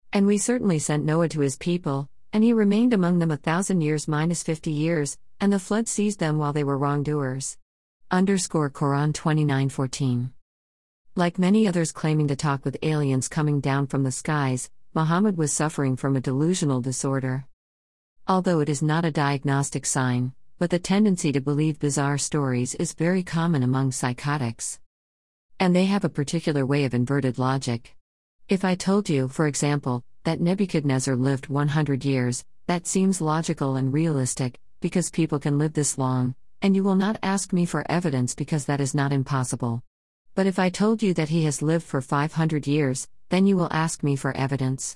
And we certainly sent Noah to his people, and he remained among them 1,000 years minus 50 years, and the flood seized them while they were wrongdoers. Quran 29:14. Like many others claiming to talk with aliens coming down from the skies, Muhammad was suffering from a delusional disorder. Although it is not a diagnostic sign, but the tendency to believe bizarre stories is very common among psychotics. And they have a particular way of inverted logic. If I told you, for example, that Nebuchadnezzar lived 100 years, that seems logical and realistic, because people can live this long, and you will not ask me for evidence because that is not impossible. But if I told you that he has lived for 500 years, then you will ask me for evidence.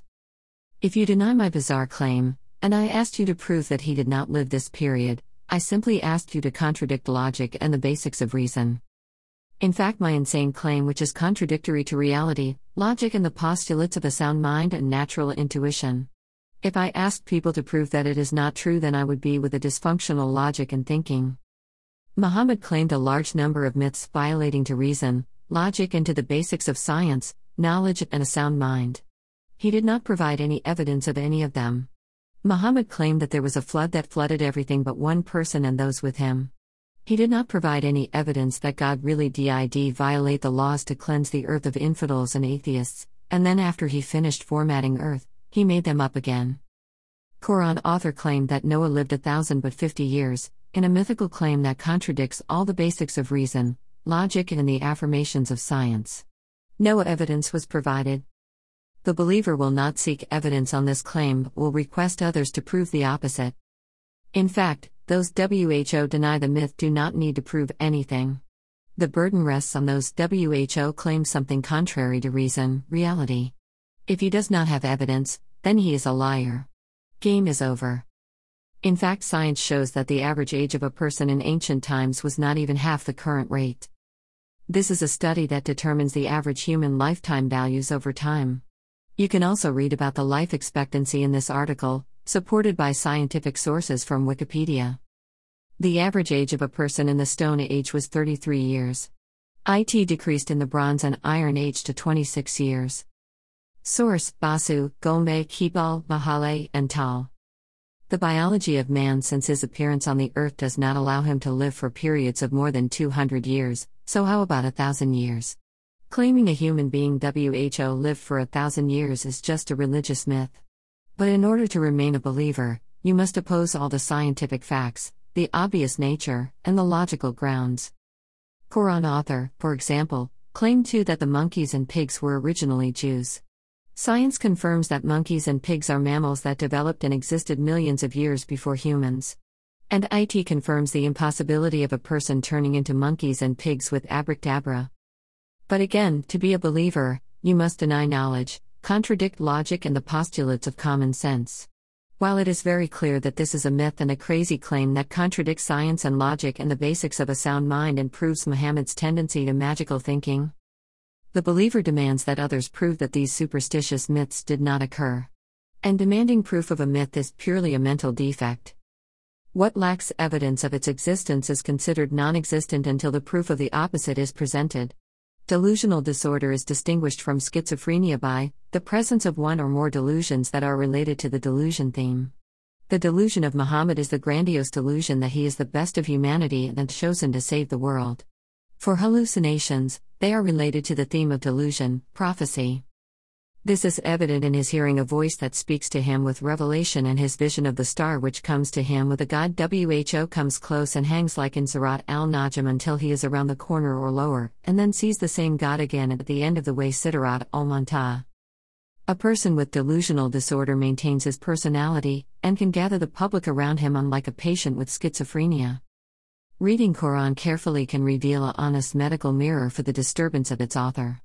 If you deny my bizarre claim, and I asked you to prove that he did not live this period, I simply asked you to contradict logic and the basics of reason. In fact, my insane claim, which is contradictory to reality, logic, and the postulates of a sound mind and natural intuition. If I asked people to prove that it is not true, then I would be with a dysfunctional logic and thinking. Muhammad claimed a large number of myths violating to reason, logic, and to the basics of science, knowledge, and a sound mind. He did not provide any evidence of any of them. Muhammad claimed that there was a flood that flooded everything but one person and those with him. He did not provide any evidence that God really did violate the laws to cleanse the earth of infidels and atheists, and then after he finished formatting earth, he made them up again. Quran author claimed that Noah lived 1,050 years, in a mythical claim that contradicts all the basics of reason, logic, and the affirmations of science. No evidence was provided. The believer will not seek evidence on this claim but will request others to prove the opposite. In fact, those WHO deny the myth do not need to prove anything. The burden rests on those WHO claim something contrary to reason, reality. If he does not have evidence, then he is a liar. Game is over. In fact, science shows that the average age of a person in ancient times was not even half the current rate. This is a study that determines the average human lifetime values over time. You can also read about the life expectancy in this article, supported by scientific sources from Wikipedia. The average age of a person in the Stone Age was 33 years. It decreased in the Bronze and Iron Age to 26 years. Source: Basu, Gombe, Kibal, Mahale, and Tal. The biology of man since his appearance on the earth does not allow him to live for periods of more than 200 years, so how about 1,000 years? Claiming a human being WHO lived for 1,000 years is just a religious myth. But in order to remain a believer, you must oppose all the scientific facts, the obvious nature, and the logical grounds. Quran author, for example, claimed too that the monkeys and pigs were originally Jews. Science confirms that monkeys and pigs are mammals that developed and existed millions of years before humans. And it confirms the impossibility of a person turning into monkeys and pigs with abracadabra. But again, to be a believer, you must deny knowledge, contradict logic, and the postulates of common sense. While it is very clear that this is a myth and a crazy claim that contradicts science and logic and the basics of a sound mind and proves Muhammad's tendency to magical thinking, the believer demands that others prove that these superstitious myths did not occur. And demanding proof of a myth is purely a mental defect. What lacks evidence of its existence is considered non-existent until the proof of the opposite is presented. Delusional disorder is distinguished from schizophrenia by the presence of one or more delusions that are related to the delusion theme. The delusion of Muhammad is the grandiose delusion that he is the best of humanity and chosen to save the world. For hallucinations, they are related to the theme of delusion, prophecy. This is evident in his hearing a voice that speaks to him with revelation and his vision of the star which comes to him with a god. WHO comes close and hangs like in Surat al-Najm until he is around the corner or lower, and then sees the same god again at the end of the way. Siddharat al-Muntaha. A person with delusional disorder maintains his personality, and can gather the public around him unlike a patient with schizophrenia. Reading Quran carefully can reveal an honest medical mirror for the disturbance of its author.